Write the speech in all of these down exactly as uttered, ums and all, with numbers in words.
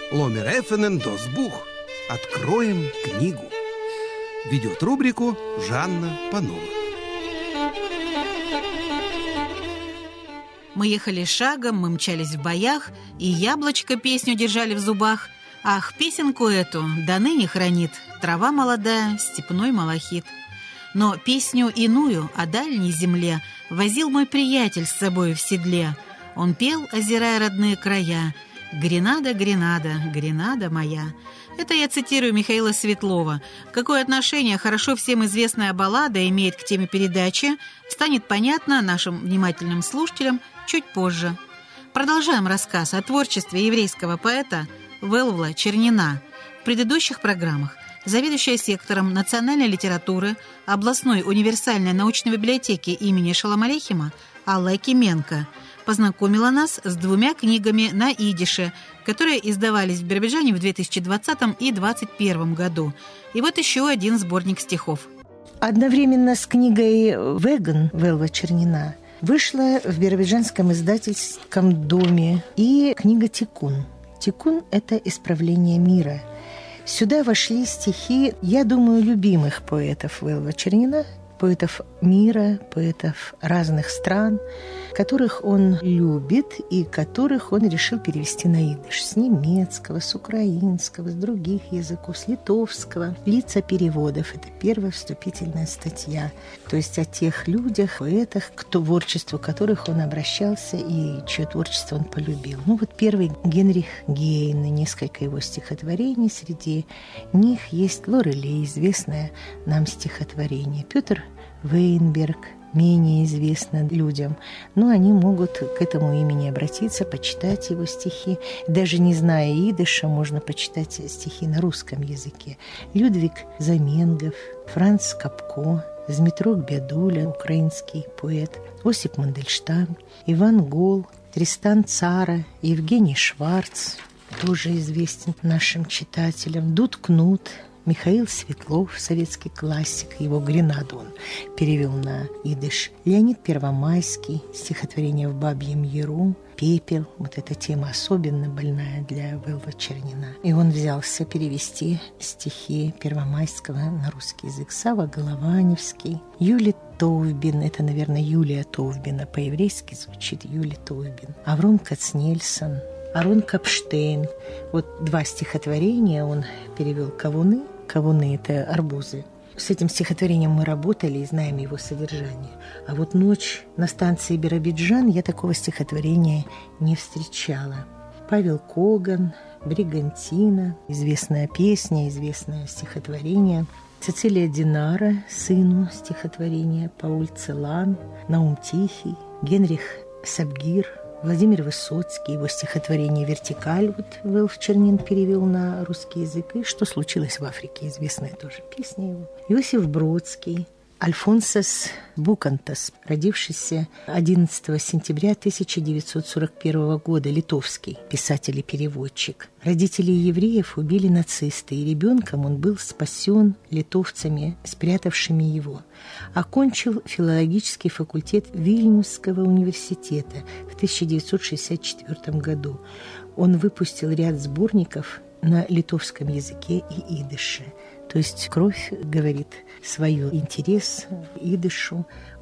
Ломер Эффенен Досбух. Откроем книгу. Ведет рубрику Жанна Панова. Мы ехали шагом, мы мчались в боях, и яблочко песню держали в зубах. Ах, песенку эту до ныне хранит трава молодая, степной малахит. Но песню иную о дальней земле возил мой приятель с собой в седле. Он пел, озирая родные края: «Гренада, Гренада, Гренада моя». Это я цитирую Михаила Светлова. Какое отношение хорошо всем известная баллада имеет к теме передачи, станет понятно нашим внимательным слушателям чуть позже. Продолжаем рассказ о творчестве еврейского поэта Велвла Чернина. В предыдущих программах заведующая сектором национальной литературы областной универсальной научной библиотеки имени Шолом Алейхема Алла Акименко познакомила нас с двумя книгами на идише, которые издавались в Биробиджане в две тысячи двадцатом и две тысячи двадцать первом году. И вот еще один сборник стихов. Одновременно с книгой «Веган» Велва Чернина вышла в биробиджанском издательском доме и книга «Тикун». «Тикун» — это исправление мира. Сюда вошли стихи, я думаю, любимых поэтов Велва Чернина, поэтов мира, поэтов разных стран, которых он любит и которых он решил перевести на идиш. С немецкого, с украинского, с других языков, с литовского. Лица переводов – это первая вступительная статья. То есть о тех людях, поэтах, к творчеству которых он обращался и чье творчество он полюбил. Ну вот первый Генрих Гейне, несколько его стихотворений. Среди них есть Лорелей, известное нам стихотворение. Петр Вейнберг, менее известно людям, но они могут к этому имени обратиться, почитать его стихи. Даже не зная идыша, можно почитать стихи на русском языке. Людвиг Заменгов, Франц Капко, Змитрок Бядуля, украинский поэт, Осип Мандельштам, Иван Гол, Тристан Цара, Евгений Шварц, тоже известен нашим читателям, Дуд Кнут, Михаил Светлов, советский классик, его «Гренаду» он перевел на идыш. Леонид Первомайский, стихотворение «В бабьем яру», «Пепел». Вот эта тема особенно больная для Велва Чернина. И он взялся перевести стихи Первомайского на русский язык. Сава Голованевский, Юлий Товбин, это, наверное, Юлия Товбина, по-еврейски звучит Юлий Товбин, Авром Кацнельсон, Арон Капштейн. Вот два стихотворения он перевел. «Кавуны». Кавуны – это арбузы. С этим стихотворением мы работали и знаем его содержание. А вот «Ночь на станции Биробиджан» я такого стихотворения не встречала. Павел Коган, «Бригантина», известная песня, известное стихотворение. Цицилия Динара, сыну стихотворение, Пауль Целан, Наум Тихий, Генрих Сабгир, Владимир Высоцкий, его стихотворение «Вертикаль» вот Велв Чернин перевел на русский язык. И «Что случилось в Африке», известная тоже песня его. Иосиф Бродский, Альфонсос Букантас, родившийся одиннадцатого сентября тысяча девятьсот сорок первого года, литовский писатель и переводчик. Родителей евреев убили нацисты, и ребенком он был спасен литовцами, спрятавшими его. Окончил филологический факультет Вильнюсского университета в тысяча девятьсот шестьдесят четвёртом году. Он выпустил ряд сборников на литовском языке и идыше. То есть кровь говорит свой интерес идышу.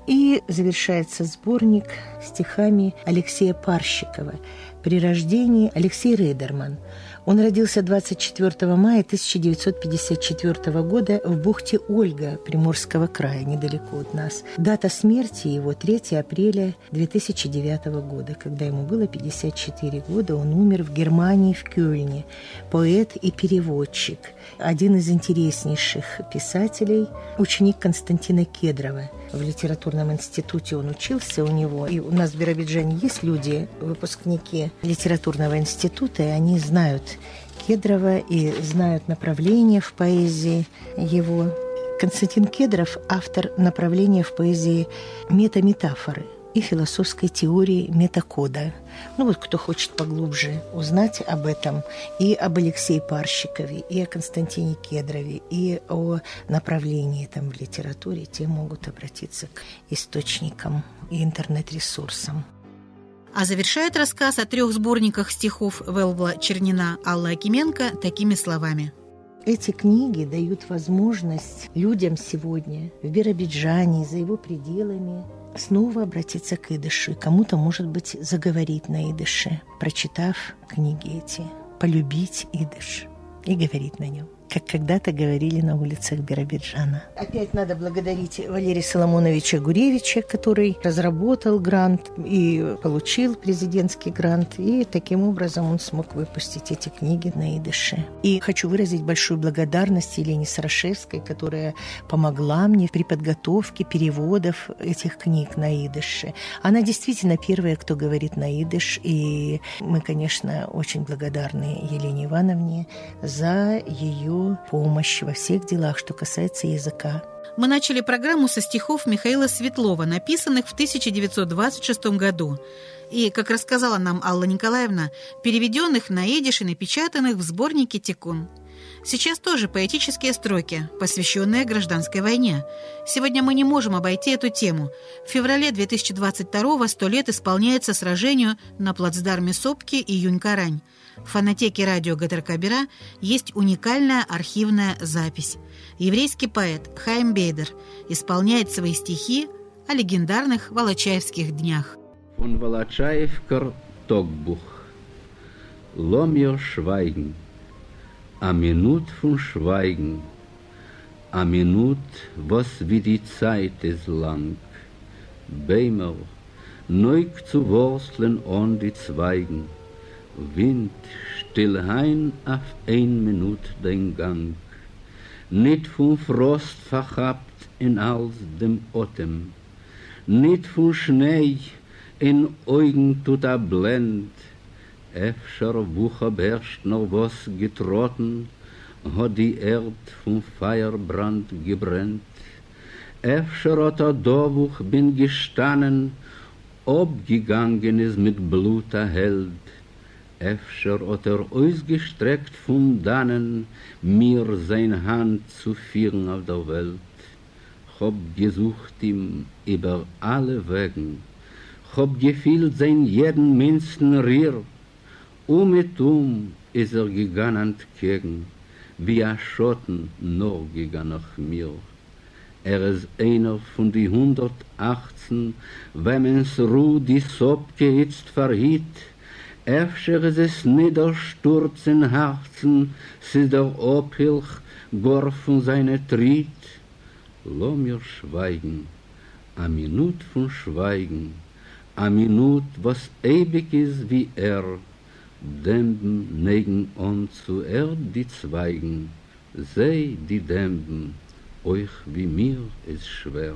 И завершается сборник стихами Алексея Парщикова «При рождении» Алексей Рейдерман. Он родился двадцать четвёртого мая тысяча девятьсот пятьдесят четвёртого года в бухте Ольга Приморского края, недалеко от нас. Дата смерти его третьего апреля две тысячи девятого года, когда ему было пятьдесят четыре года. Он умер в Германии, в Кёльне. Поэт и переводчик. Один из интереснейших писателей, ученик Константина Кедрова. В литературном институте он учился у него. И у нас в Биробиджане есть люди, выпускники литературного института, и они знают Кедрова и знают направление в поэзии его. Константин Кедров – автор направления в поэзии метаметафоры и философской теории метакода. Ну вот кто хочет поглубже узнать об этом, и об Алексее Парщикове, и о Константине Кедрове, и о направлении там в литературе, те могут обратиться к источникам и интернет-ресурсам. А завершает рассказ о трех сборниках стихов Велва Чернина Алла Акименко такими словами. Эти книги дают возможность людям сегодня в Биробиджане, за его пределами, снова обратиться к идышу. Кому-то, может быть, заговорить на идыше, прочитав книги эти, полюбить идыш и говорить на нем, как когда-то говорили на улицах Биробиджана. Опять надо благодарить Валерия Соломоновича Гуревича, который разработал грант и получил президентский грант, и таким образом он смог выпустить эти книги на идыше. И хочу выразить большую благодарность Елене Сарашевской, которая помогла мне при подготовке переводов этих книг на идыше. Она действительно первая, кто говорит на идыш, и мы, конечно, очень благодарны Елене Ивановне за ее помощь во всех делах, что касается языка. Мы начали программу со стихов Михаила Светлова, написанных в тысяча девятьсот двадцать шестом году. И, как рассказала нам Алла Николаевна, переведенных на идиш и напечатанных в сборнике «Тикун». Сейчас тоже поэтические строки, посвященные гражданской войне. Сегодня мы не можем обойти эту тему. В феврале две тысячи двадцать второго сто лет исполняется сражению на плацдарме Сопки и Юнь-Карань. В фонотеке радио ГТРК Бира есть уникальная архивная запись. Еврейский поэт Хаим Бейдер исполняет свои стихи о легендарных Волочаевских днях. Von Волочаевкер Тогбуch. Ломьер Schweigen. A Minut von Schweigen. A Minut, was wie die Zeit ist lang. Beimer, neug zu wursteln on die Zweigen. Wind, still hein auf ein Minut den Gang. Nicht von Frost verhabt in als dem Atem. Nicht von Schnee in Augen tut er blend. Efter Wucher beherrscht noch was getrotten, hat die Erd vom Feierbrand gebrennt. Efter hat er da, wo ich bin gestanden, abgegangen ist mit Blut erhellt. Efter hat er ausgestreckt von dannen, mir sein Hand zu führen auf der Welt. Hab gesucht ihm über alle Wegen, hab gefühlt sein jeden minsten Rier. Um mit um ist er gegangen entgegen, wie ein Schotten nur gegangen nach mir. Er ist einer von die hundertachtzehn, wenn ins Ruh die Sopke jetzt verhielt. Efter ist es Niedersturz in Herzen, es ist der Abhilch, gar von seiner Tritt. Lass mir schweigen, a Minut von Schweigen, a Minut, was ewig ist wie er. Dämben neigen on zu Erd die Zweigen, sei die Dämben, euch wie mir ist schwer.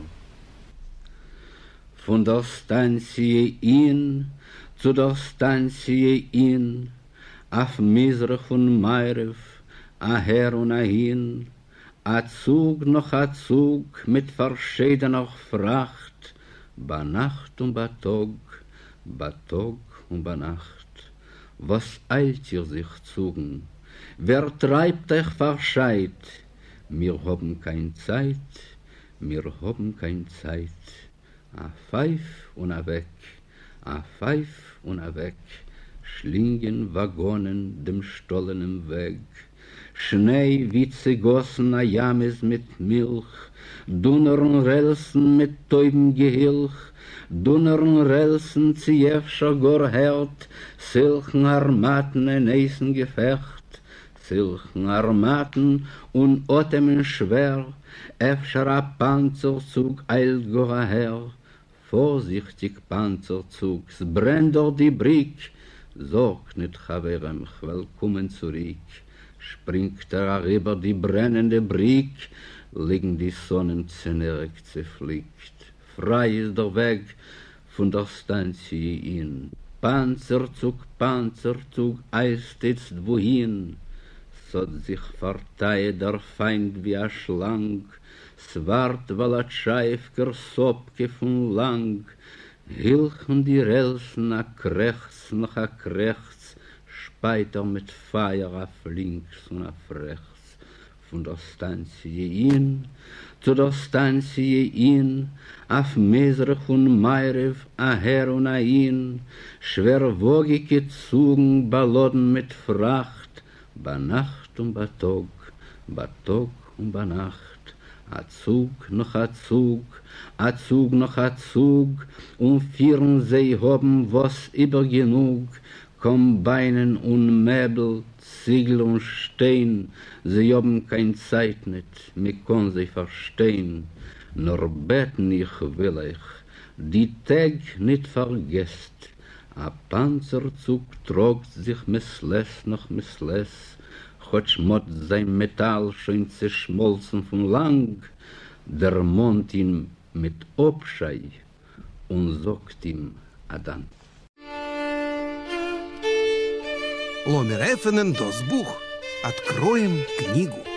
Von der Stanzie in zu der Stanzie in, auf Misrach von Meirev, a her und a hin, a Zug noch a Zug mit verschiedener Fracht, ba Nacht und ba Tag, ba Tag und ba Nacht. Was eilt ihr sich zugen? Wer treibt euch verscheit? Wir haben kein Zeit, wir haben kein Zeit. A Pfeif und a weg, a Pfeif und a weg, schlingen Waggonen dem stollenen Weg. Schnee wie zegossen a James mit Milch, dunneren Relsen mit täubem Gehilch, dunneren Relsen ziefscher gor hert, silchen Armaten in eisen Gefecht, silchen Armaten und Otemen schwer, efscher a Panzerzug eilt gor her, vorsichtig Panzerzug, s brennt dort die Brick, sorg nicht, Chaverem, willkommen zurück, springt er über die brennende Brick, liegen die Sonnenzähne zerflickt. Frei ist der Weg von der Stanzie in. Panzerzug, Panzerzug, eist jetzt wohin, so sich verteilt der Feind wie ein Schlang, swart Walatscheiwker Sopke von lang, hilchen die Relsen a krechts noch a krechts, speit er mit Feier auf links und auf rechts. von der Stanzie in, zu der Stanzie in, auf Mesrach und Meirev, a her und a in, schwerwogige Zugen, beladen mit Fracht, bei Nacht und bei Tag, bei Tag und bei Nacht, a Zug noch a Zug, a Zug noch a Zug, und vieren sie haben was über genug, Kombeinen und Möbel, Ziegel und Stein, sie haben kein Zeit nicht, mir kann sie verstehen, nur beten ich will ich, die Tag nicht vergesst, a Panzerzug trogt sich missles noch missles, Chotsch mot sein Metall schon zerschmolzen von lang, der Mond ihn mit Obschei und sagt ihm Adan. Ломер Эффенен Досбух. Откроем книгу.